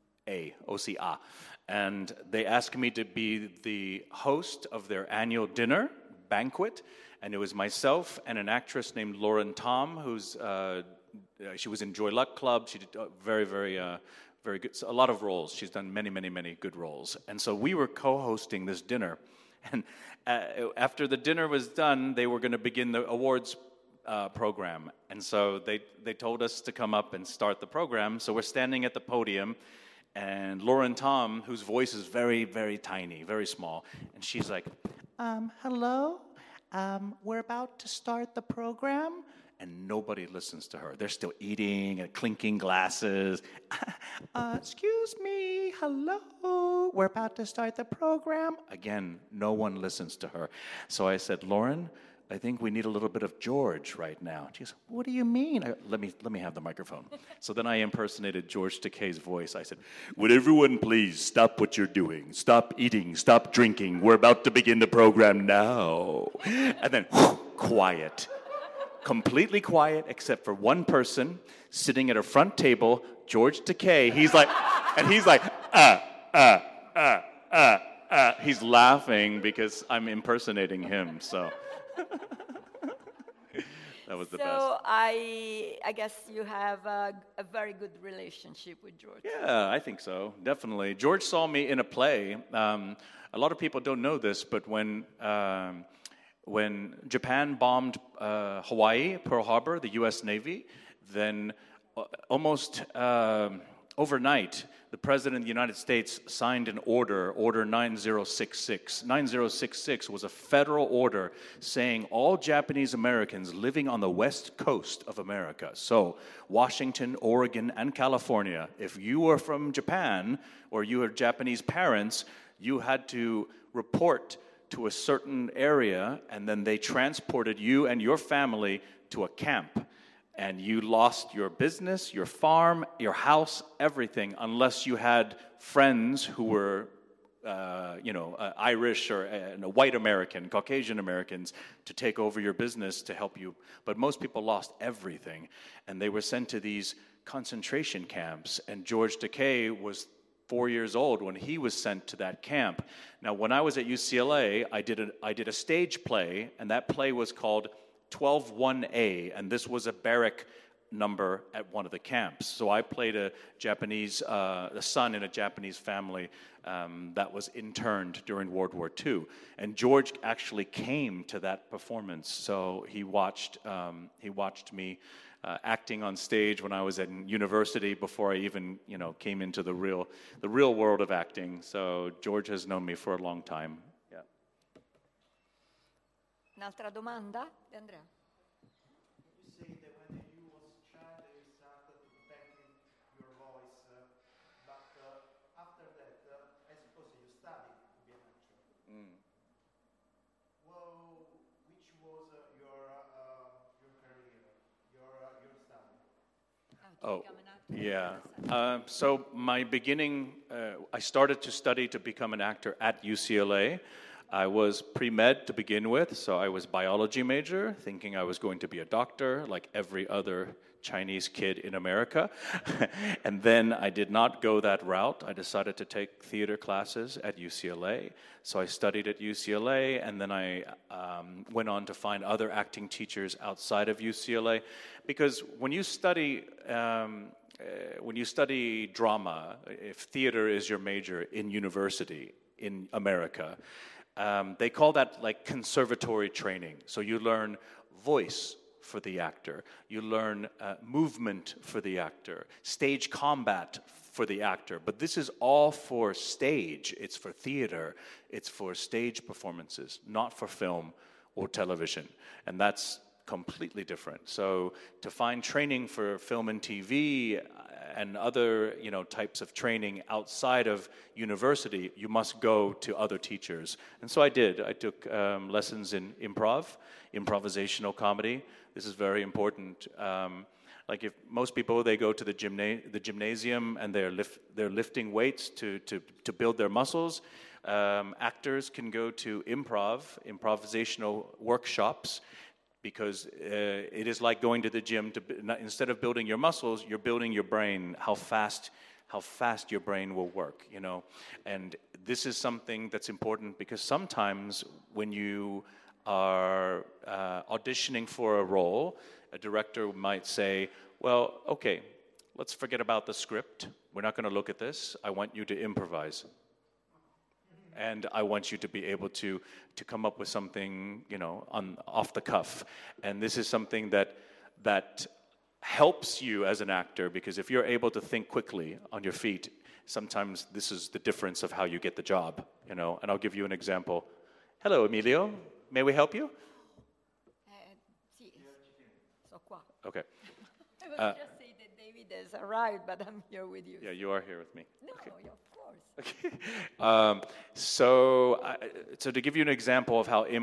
And they asked me to be the host of their annual dinner banquet, and it was myself and an actress named Lauren Tom, who's she was in Joy Luck Club. She did very good, a lot of roles. She's done many good roles. And so we were co-hosting this dinner. And after the dinner was done, they were going to begin the awards program. And so they told us to come up and start the program. So we're standing at the podium, and Lauren Tom, whose voice is very tiny, very small, and she's like, hello, we're about to start the program. And nobody listens to her. They're still eating and clinking glasses. Excuse me, hello, we're about to start the program. Again, no one listens to her. So I said, Lauren, I think we need a little bit of George right now. She goes, what do you mean? Let me have the microphone. So then I impersonated George Takei's voice. I said, would everyone please stop what you're doing? Stop eating, stop drinking. We're about to begin the program now. And then, quiet. Completely quiet, except for one person sitting at a front table, George Takei. He's like, He's laughing because I'm impersonating him. So that was the best. So I guess you have a very good relationship with George. Yeah, I think so. Definitely. George saw me in a play. A lot of people don't know this, but when Japan bombed Hawaii, Pearl Harbor, the U.S. Navy, then almost overnight, the President of the United States signed an order 9066. 9066 was a federal order saying all Japanese Americans living on the west coast of America, so Washington, Oregon, and California, if you were from Japan or you had Japanese parents, you had to report to a certain area, and then they transported you and your family to a camp. And you lost your business, your farm, your house, everything, unless you had friends who were, Irish or white American, Caucasian Americans, to take over your business to help you. But most people lost everything, and they were sent to these concentration camps. And George Takei was 4 years old when he was sent to that camp. Now, when I was at UCLA, I did a stage play, and that play was called 12-1A, and this was a barrack number at one of the camps. So I played a son in a Japanese family that was interned during World War II. And George actually came to that performance, so he watched me acting on stage when I was at university before I even, came into the real world of acting. So George has known me for a long time. Yeah. Un'altra domanda di Andrea? You say that when you was a child you started perfecting your voice, but after that, I suppose you studied to be an actor. Well, which was your career, your study? Oh, yeah. So my beginning, I started to study to become an actor at UCLA. I was pre-med to begin with, so I was biology major, thinking I was going to be a doctor like every other Chinese kid in America. And then I did not go that route. I decided to take theater classes at UCLA. So I studied at UCLA, and then I went on to find other acting teachers outside of UCLA. Because when you study drama, if theater is your major in university in America, they call that like conservatory training. So you learn voice, for the actor. You learn movement for the actor, stage combat for the actor. But this is all for stage. It's for theater. It's for stage performances, not for film or television. And that's completely different. So to find training for film and TV and other, types of training outside of university, you must go to other teachers. And so I did. I took lessons in improvisational comedy. This is very important. Like if most people, they go to the gymnasium and they're lifting weights to build their muscles. Actors can go to improvisational workshops, because it is like going to the gym. Instead of building your muscles, you're building your brain. How fast your brain will work, And this is something that's important, because sometimes when you are auditioning for a role, a director might say, well, okay, let's forget about the script. We're not going to look at this. I want you to improvise. And I want you to be able to come up with something, off the cuff. And this is something that helps you as an actor, because if you're able to think quickly on your feet, sometimes this is the difference of how you get the job, And I'll give you an example. Hello, Emilio. May we help you? Sì, so qua. Okay. I was just saying that David has arrived, but I'm here with you. Yeah, you are here with me. No, Okay. of course. Okay. So to give you an example of how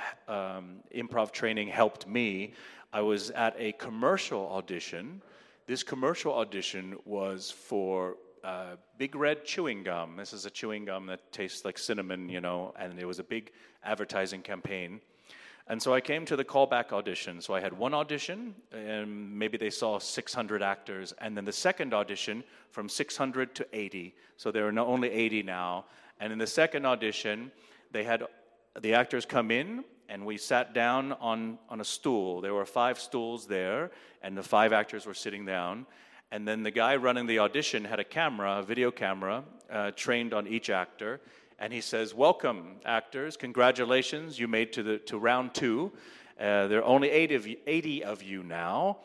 improv training helped me, I was at a commercial audition. This commercial audition was for Big Red chewing gum. This is a chewing gum that tastes like cinnamon, and it was a big advertising campaign. And so I came to the callback audition. So I had one audition, and maybe they saw 600 actors. And then the second audition, from 600 to 80. So there are only 80 now. And in the second audition, they had the actors come in, and we sat down on a stool. There were 5 stools there, and the 5 actors were sitting down. And then the guy running the audition had a video camera, trained on each actor. And he says, welcome, actors. Congratulations, you made to round 2. There are only 80 of you now.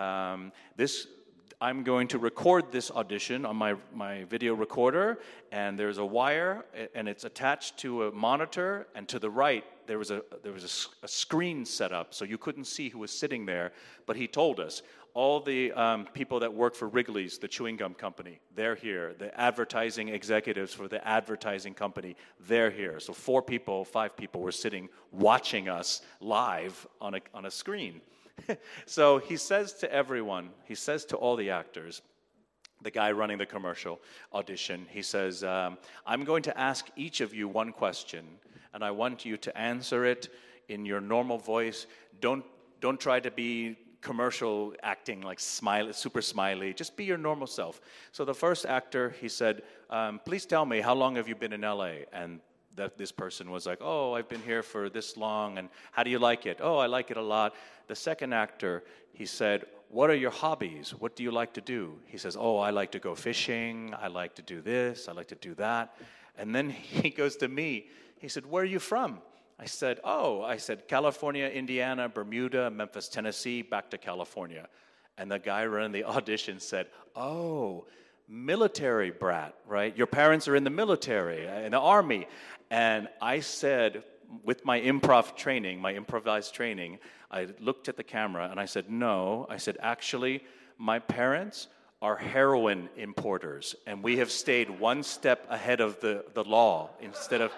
I'm going to record this audition on my video recorder, and there's a wire, and it's attached to a monitor, and to the right, there was a screen set up, so you couldn't see who was sitting there, but he told us, all the people that work for Wrigley's, the chewing gum company, they're here. The advertising executives for the advertising company, they're here. So 5 people were sitting watching us live on a screen. So he says to everyone, he says to all the actors, the guy running the commercial audition, he says, I'm going to ask each of you one question, and I want you to answer it in your normal voice. Don't try to be commercial acting, like super smiley. Just be your normal self. So the first actor, he said, please tell me, how long have you been in LA? And this person was like, oh, I've been here for this long, and how do you like it? Oh, I like it a lot. The second actor, he said, what are your hobbies? What do you like to do? He says, oh, I like to go fishing. I like to do this. I like to do that. And then he goes to me. He said, where are you from? I said, California, Indiana, Bermuda, Memphis, Tennessee, back to California. And the guy running the audition said, oh, military brat, right? Your parents are in the military, in the army. And I said, with my improvised training, I looked at the camera and I said, no. I said, actually, my parents are heroin importers, and we have stayed one step ahead of the law instead of...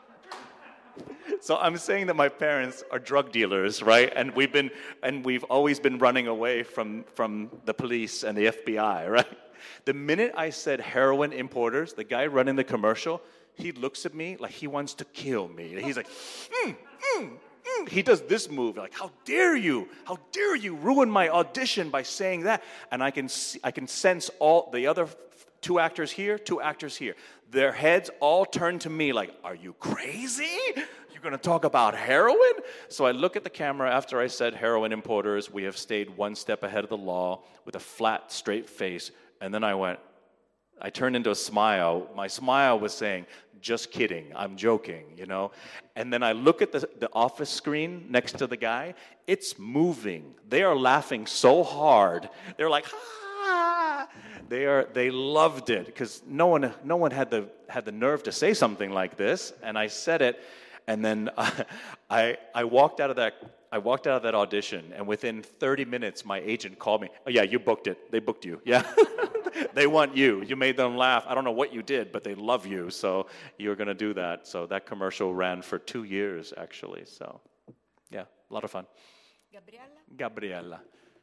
So I'm saying that my parents are drug dealers, right? And we've always been running away from the police and the FBI, right? The minute I said heroin importers, the guy running the commercial, he looks at me like he wants to kill me. He's like, He does this move, like, how dare you ruin my audition by saying that? And I can sense all the other 2 actors here, 2 actors here. Their heads all turn to me like, are you crazy? You're going to talk about heroin? So I look at the camera after I said heroin importers, we have stayed one step ahead of the law, with a flat, straight face. And then I went, I turned into a smile. My smile was saying, just kidding, I'm joking, you know? And then I look at the office screen next to the guy. It's moving. They are laughing so hard. They're like, ah! They loved it because no one had the nerve to say something like this. And I said it, and then I walked out of that audition, and within 30 minutes, my agent called me. Oh yeah, you booked it. They booked you. Yeah. They want you. You made them laugh. I don't know what you did, but they love you, so you're going to do that. So that commercial ran for 2 years, actually. So, yeah, a lot of fun. Gabriella.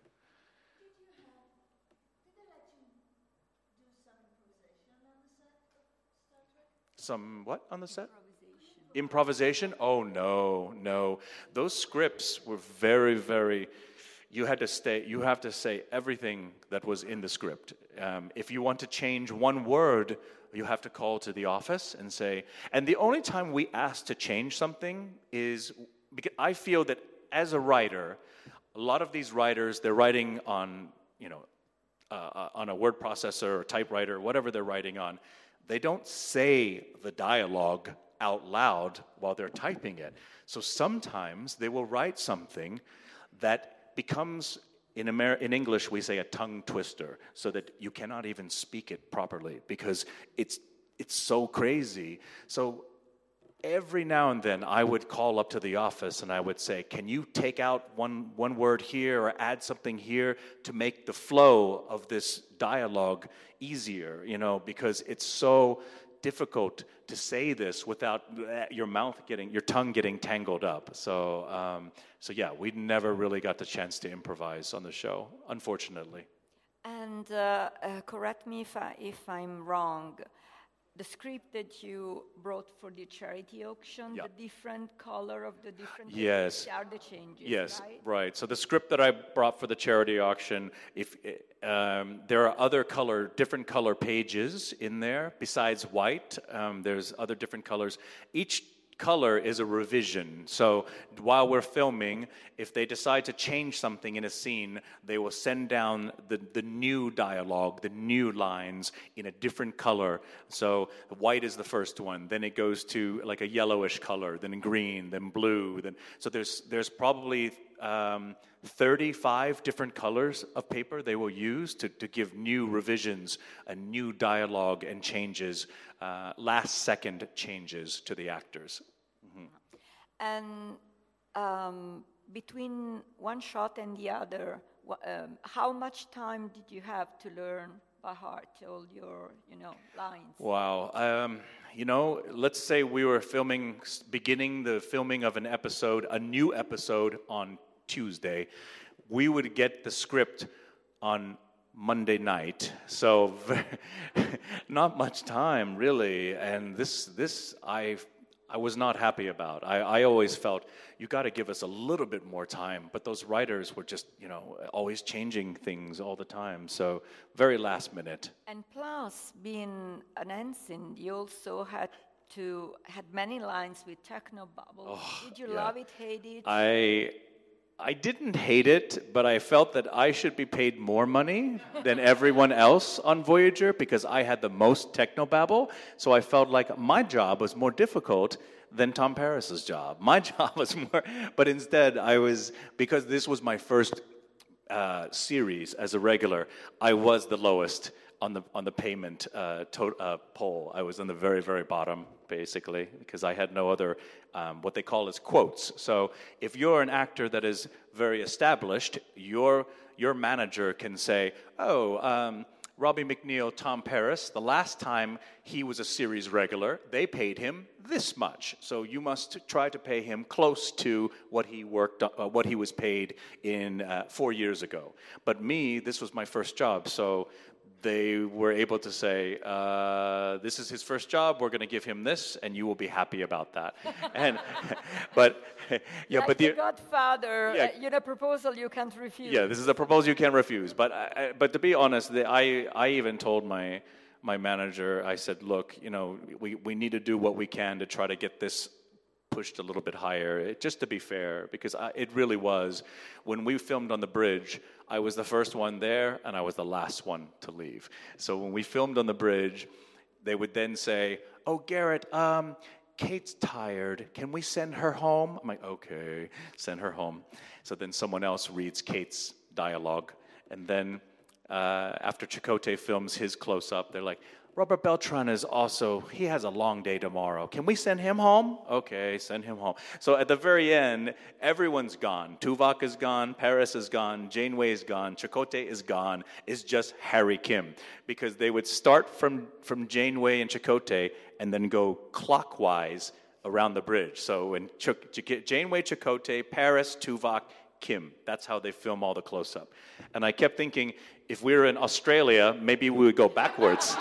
Some what on the set? Improvisation? Oh, no. Those scripts were very, very... You have to say everything that was in the script. If you want to change one word, you have to call to the office and say... And the only time we ask to change something is... Because I feel that as a writer, a lot of these writers, they're writing on, on a word processor or typewriter, whatever they're writing on. They don't say the dialogue out loud while they're typing it. So sometimes they will write something that becomes, in English, we say a tongue twister, so that you cannot even speak it properly because it's so crazy. So every now and then I would call up to the office and I would say, can you take out one word here or add something here to make the flow of this dialogue easier, because it's so difficult to say this without your tongue getting tangled up. So yeah, we never really got the chance to improvise on the show, unfortunately. And correct me if I'm wrong. The script that you brought for the charity auction, the different color of the different pages are the changes, yes, right? So the script that I brought for the charity auction, there are different color pages in there besides white. There's other different colors. Each color is a revision. So while we're filming, if they decide to change something in a scene, they will send down the new dialogue, the new lines in a different color. So white is the first one. Then it goes to like a yellowish color, then green, then blue. So there's probably 35 different colors of paper they will use to give new revisions, a new dialogue and changes, last-second changes to the actors. Mm-hmm. And between one shot and the other, how much time did you have to learn by heart all your, lines? Wow. Let's say we were beginning the filming of a new episode on Tuesday. We would get the script on Monday night, so not much time really. And this I was not happy about. I always felt you got to give us a little bit more time, but those writers were just always changing things all the time. So very last minute. And plus, being an ensign, you also had many lines with technobabble. Oh, Did you love it, hate it? I didn't hate it, but I felt that I should be paid more money than everyone else on Voyager because I had the most technobabble. So I felt like my job was more difficult than Tom Paris's job. My job was more, but instead because this was my first series as a regular, I was the lowest on the payment poll. I was on the very, very bottom, basically, because I had no other, what they call as quotes. So if you're an actor that is very established, your manager can say, Robbie McNeil, Tom Paris, the last time he was a series regular, they paid him this much. So you must try to pay him close to what he was paid in 4 years ago. But me, this was my first job, so they were able to say, this is his first job, we're going to give him this, and you will be happy about that. But the Godfather, proposal you can't refuse. Yeah, this is a proposal you can't refuse. But to be honest, I even told my manager, I said, look, we need to do what we can to try to get this pushed a little bit higher, just to be fair, because it really was. When we filmed on the bridge, I was the first one there, and I was the last one to leave. So when we filmed on the bridge, they would then say, "Oh, Garrett, Kate's tired. Can we send her home?" I'm like, "Okay, send her home." So then someone else reads Kate's dialogue, and then after Chakotay films his close-up, they're like, "Robert Beltran he has a long day tomorrow. Can we send him home?" "Okay, send him home." So at the very end, everyone's gone. Tuvok is gone, Paris is gone, Janeway is gone, Chakotay is gone. It's just Harry Kim. Because they would start from Janeway and Chakotay and then go clockwise around the bridge. So when Janeway, Chakotay, Paris, Tuvok, Kim. That's how they film all the close-up. And I kept thinking, if we were in Australia, maybe we would go backwards.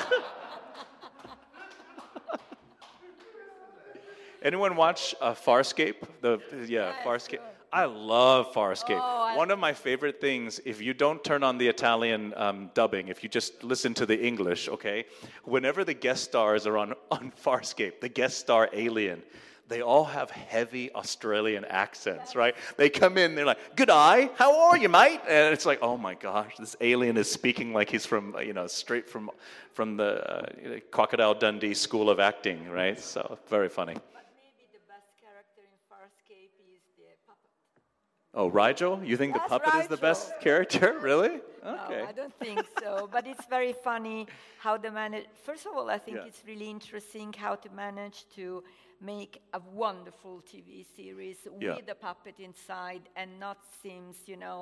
Anyone watch Farscape? Farscape. Sure. I love Farscape. One of my favorite things, if you don't turn on the Italian dubbing, if you just listen to the English, okay? Whenever the guest stars are on Farscape, the guest star alien, they all have heavy Australian accents, right? They come in, they're like, "G'day, how are you, mate?" And it's like, oh my gosh, this alien is speaking like he's from, straight from the Crocodile Dundee School of Acting, right? So, very funny. But maybe the best character in Farscape is the puppet. Oh, Rigel? You think the puppet is the best character? Really? Okay. No, I don't think so. But it's very funny how they manage. First of all, I think it's really interesting how to manage to make a wonderful TV series with a puppet inside and not seems,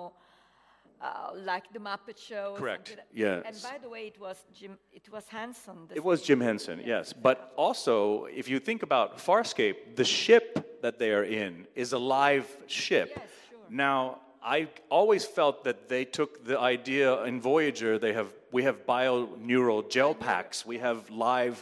like the Muppet Show. Correct. Yes. And by the way, it was Henson. It was Jim Henson, yes. But also, if you think about Farscape, the ship that they are in is a live ship. Yes, sure. Now, I always felt that they took the idea in Voyager. We have bio-neural gel packs. We have live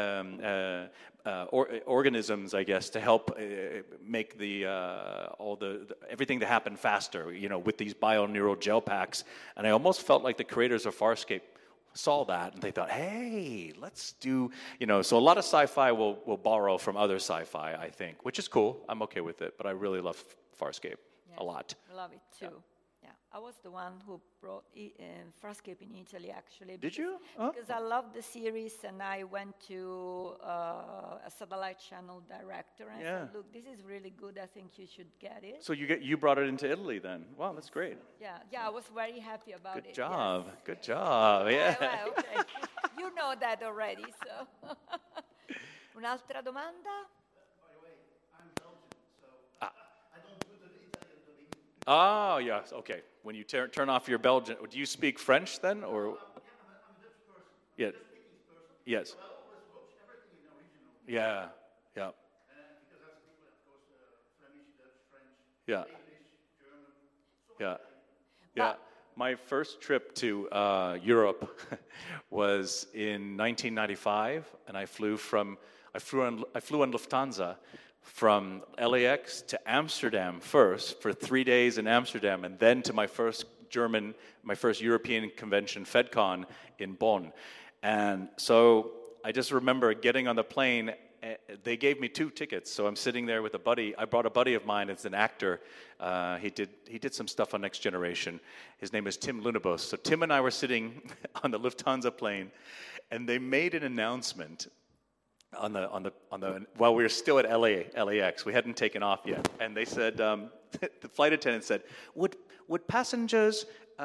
organisms, I guess, to help make everything to happen faster. With these bio-neural gel packs. And I almost felt like the creators of Farscape saw that and they thought, "Hey, let's do." So a lot of sci-fi will borrow from other sci-fi, I think, which is cool. I'm okay with it, but I really love Farscape. A lot. I love it too. Yeah. I was the one who brought Farscape in Italy, actually. Did you? Oh. Because I loved the series, and I went to a satellite channel director and said, "Look, this is really good. I think you should get it." So you brought it into Italy then? Wow, that's great. Yeah. I was very happy about it. Good job. Yes. Good job. Yeah. Well, okay. You know that already. So, un'altra domanda? Oh, yes, okay. When you turn off your Belgian, do you speak French then, or? I'm a Dutch person. Yeah. I'm a Dutch-speaking person. Yes. So I always watch everything in original. Yeah. Because I speak, of course, Flemish, Dutch, French, English, German. Yeah. My first trip to Europe was in 1995, and I flew on Lufthansa from LAX to Amsterdam first for 3 days in Amsterdam, and then to my first European convention, FedCon, in Bonn. And so I just remember getting on the plane. They gave me 2 tickets, so I'm sitting there with a buddy. I brought a buddy of mine as an actor. He did some stuff on Next Generation. His name is Tim Lunabos. So Tim and I were sitting on the Lufthansa plane, and they made an announcement on the while we were still at LAX. We hadn't taken off yet, and they said the flight attendant said, "Would passengers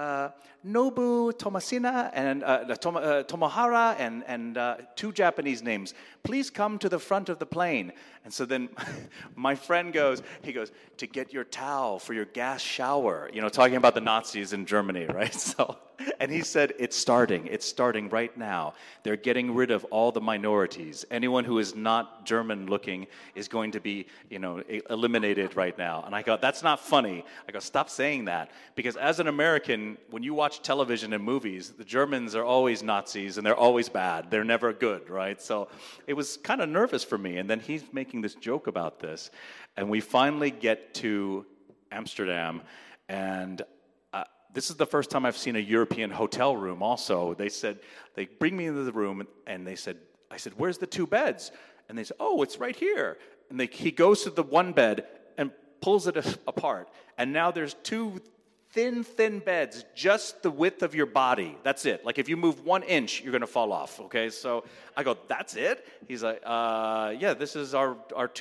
Nobu Tomasina and Tomohara and 2 Japanese names please come to the front of the plane?" And so then my friend goes, "To get your towel for your gas shower," talking about the Nazis in Germany, right? So, and he said, it's starting right now. They're getting rid of all the minorities. Anyone who is not German looking is going to be, eliminated right now. And I go, that's not funny. I go, stop saying that. Because as an American, when you watch television and movies, the Germans are always Nazis and they're always bad. They're never good, right? So it was kind of nervous for me. And then he's making this joke about this. And we finally get to Amsterdam, and this is the first time I've seen a European hotel room also. They bring me into the room, and I said, "Where's the 2 beds?" And they said, "Oh, it's right here." And he goes to the one bed and pulls it apart. And now there's two thin beds, just the width of your body. That's it. Like if you move 1 inch, you're going to fall off, okay? So I go, that's it? He's like, yeah, this is our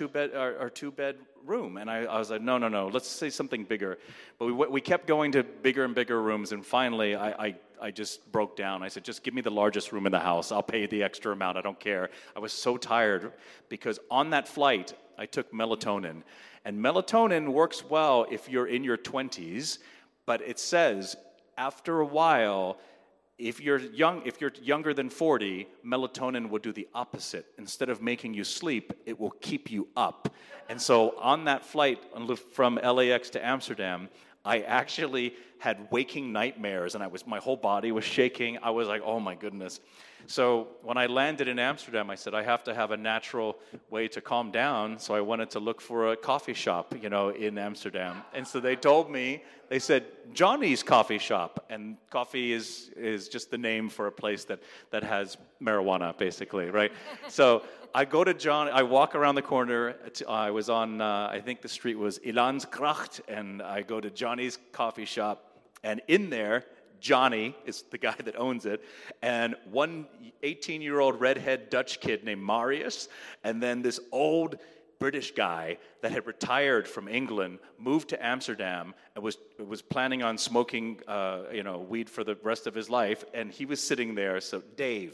two-bed room. And I was like, no, let's say something bigger. But we kept going to bigger and bigger rooms, and finally I just broke down. I said, just give me the largest room in the house. I'll pay the extra amount. I don't care. I was so tired because on that flight, I took melatonin. And melatonin works well if you're in your 20s, but it says after a while, if you're younger than 40, melatonin will do the opposite. Instead of making you sleep, it will keep you up. And so on that flight from LAX to Amsterdam, I actually had waking nightmares, and my whole body was shaking. I was like, oh my goodness. So when I landed in Amsterdam, I said, I have to have a natural way to calm down. So I wanted to look for a coffee shop, in Amsterdam. And so they told me, they said, Johnny's Coffee Shop. And coffee is just the name for a place that has marijuana, basically, right? So I go to John, I walk around the corner. I was on, I think the street was Ilansgracht, and I go to Johnny's Coffee Shop. And in there, Johnny is the guy that owns it, and one 18-year-old redhead Dutch kid named Marius, and then this old British guy that had retired from England, moved to Amsterdam, and was planning on smoking, weed for the rest of his life, and he was sitting there. So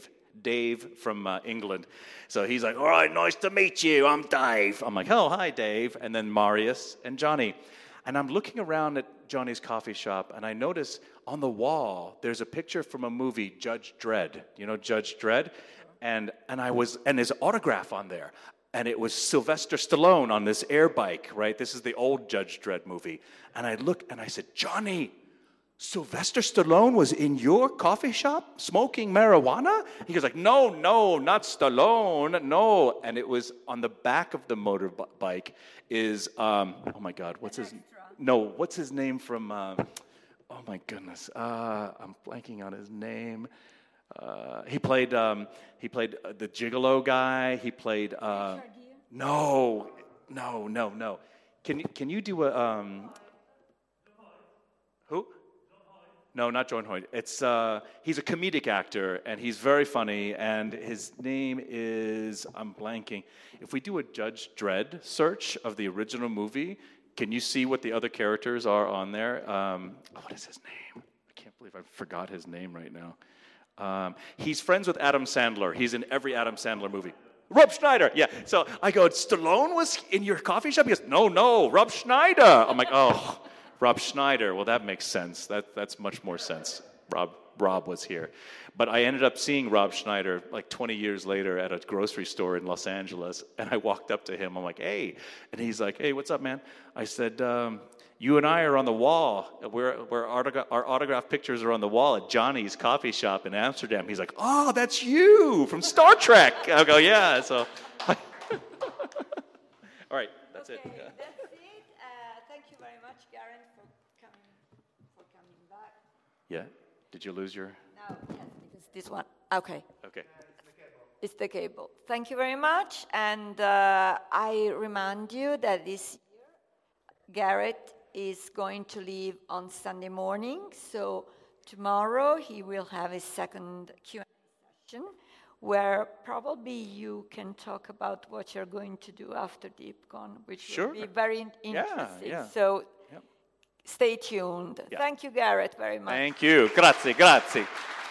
Dave from England. So he's like, all right, nice to meet you. I'm Dave. I'm like, oh, hi, Dave. And then Marius and Johnny. And I'm looking around at Johnny's Coffee Shop, and I notice on the wall there's a picture from a movie, Judge Dredd. You know Judge Dredd? And his autograph on there. And it was Sylvester Stallone on this air bike, right? This is the old Judge Dredd movie. And I looked and I said, Johnny, Sylvester Stallone was in your coffee shop smoking marijuana? He goes like, no, not Stallone, no. And it was on the back of the motorbike is, oh my God, what's his name from, oh my goodness, I'm blanking on his name. He played the Gigolo guy. He played, no. Can you do a, who? No, not John Hoyt. It's he's a comedic actor, and he's very funny, and his name is, I'm blanking. If we do a Judge Dredd search of the original movie, can you see what the other characters are on there? What is his name? I can't believe I forgot his name right now. He's friends with Adam Sandler. He's in every Adam Sandler movie. Rob Schneider, yeah. So I go, Stallone was in your coffee shop? He goes, no, Rob Schneider. I'm like, oh. Rob Schneider, well, that makes sense. That's much more sense. Rob was here. But I ended up seeing Rob Schneider like 20 years later at a grocery store in Los Angeles, and I walked up to him. I'm like, hey. And he's like, hey, what's up, man? I said, you and I are on the wall. Our autograph pictures are on the wall at Johnny's Coffee Shop in Amsterdam. He's like, oh, that's you from Star Trek. I go, yeah. So, all right, that's it. Yeah. Thank you very much, Garen, for coming back. Yeah. Did you lose your? No. Yes, because this one. Okay. Okay. It's the cable. Thank you very much, and I remind you that this year, Garrett is going to leave on Sunday morning. So tomorrow he will have a second Q&A session, where probably you can talk about what you're going to do after DeepCon, which will be very interesting. Yeah. So stay tuned. Yeah. Thank you, Garrett, very much. Thank you. Grazie.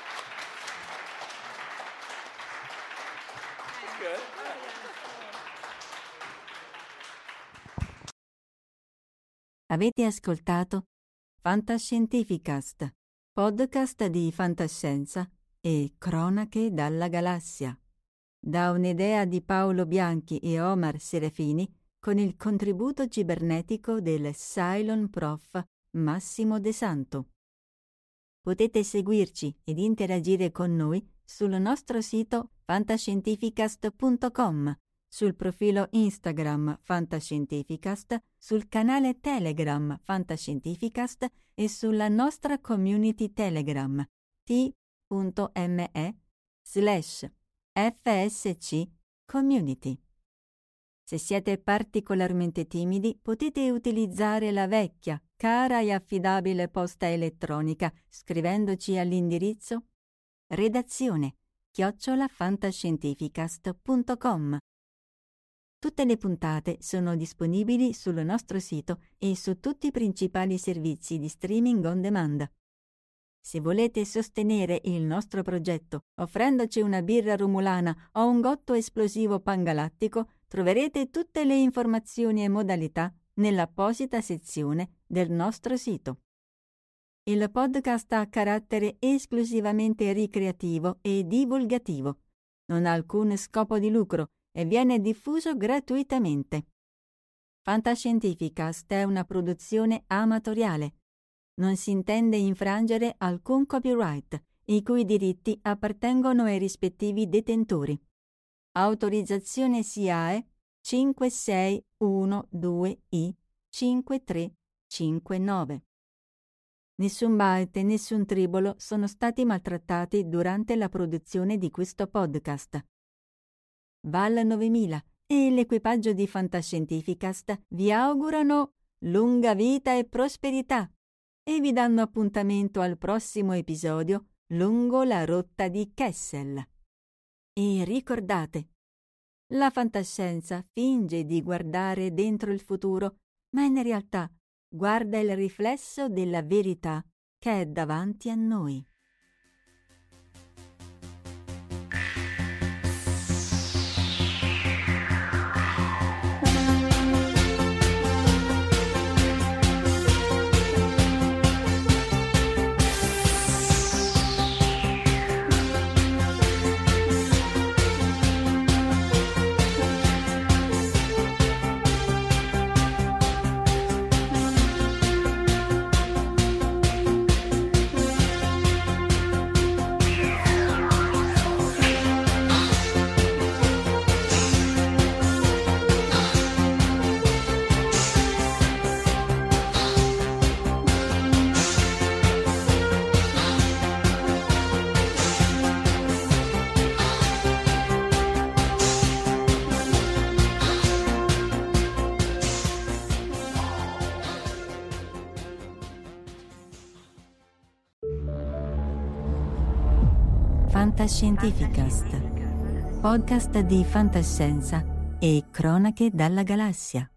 Avete ascoltato Fantascientificast, podcast di fantascienza e cronache dalla galassia, da un'idea di Paolo Bianchi e Omar Serafini con il contributo cibernetico del Cylon Prof Massimo De Santo. Potete seguirci ed interagire con noi sul nostro sito fantascientificast.com, sul profilo Instagram Fantascientificast, sul canale Telegram Fantascientificast e sulla nostra community Telegram t.me/FSC Community. Se siete particolarmente timidi, potete utilizzare la vecchia, cara e affidabile posta elettronica scrivendoci all'indirizzo redazione@fantascientificast.com. Tutte le puntate sono disponibili sul nostro sito e su tutti i principali servizi di streaming on demand. Se volete sostenere il nostro progetto offrendoci una birra rumulana o un gotto esplosivo pangalattico, troverete tutte le informazioni e modalità nell'apposita sezione del nostro sito. Il podcast ha carattere esclusivamente ricreativo e divulgativo. Non ha alcun scopo di lucro e viene diffuso gratuitamente. Fantascientificast è una produzione amatoriale. Non si intende infrangere alcun copyright, i cui diritti appartengono ai rispettivi detentori. Autorizzazione SIAE 5612I5359. Nessun byte e nessun tribolo sono stati maltrattati durante la produzione di questo podcast. Val 9000 e l'equipaggio di Fantascientificast vi augurano lunga vita e prosperità e vi danno appuntamento al prossimo episodio lungo la rotta di Kessel. E ricordate, la fantascienza finge di guardare dentro il futuro, ma in realtà guarda il riflesso della verità che è davanti a noi. Fantascientificast, podcast di fantascienza e cronache dalla galassia.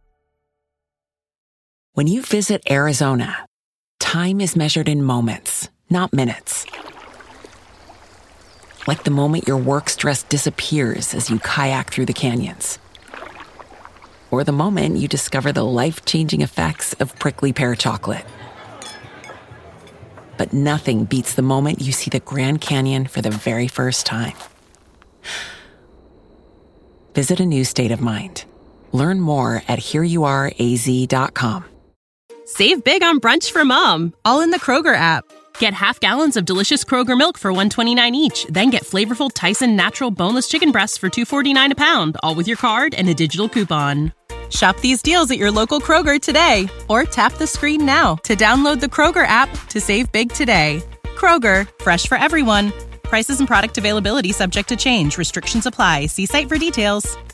When you visit Arizona, time is measured in moments, not minutes. Like the moment your work stress disappears as you kayak through the canyons. Or the moment you discover the life-changing effects of prickly pear chocolate. But nothing beats the moment you see the Grand Canyon for the very first time. Visit a new state of mind. Learn more at hereyouareaz.com. Save big on brunch for mom, all in the Kroger app. Get half gallons of delicious Kroger milk for $1.29 each. Then get flavorful Tyson natural boneless chicken breasts for $2.49 a pound, all with your card and a digital coupon. Shop these deals at your local Kroger today, or tap the screen now to download the Kroger app to save big today. Kroger, fresh for everyone. Prices and product availability subject to change. Restrictions apply. See site for details.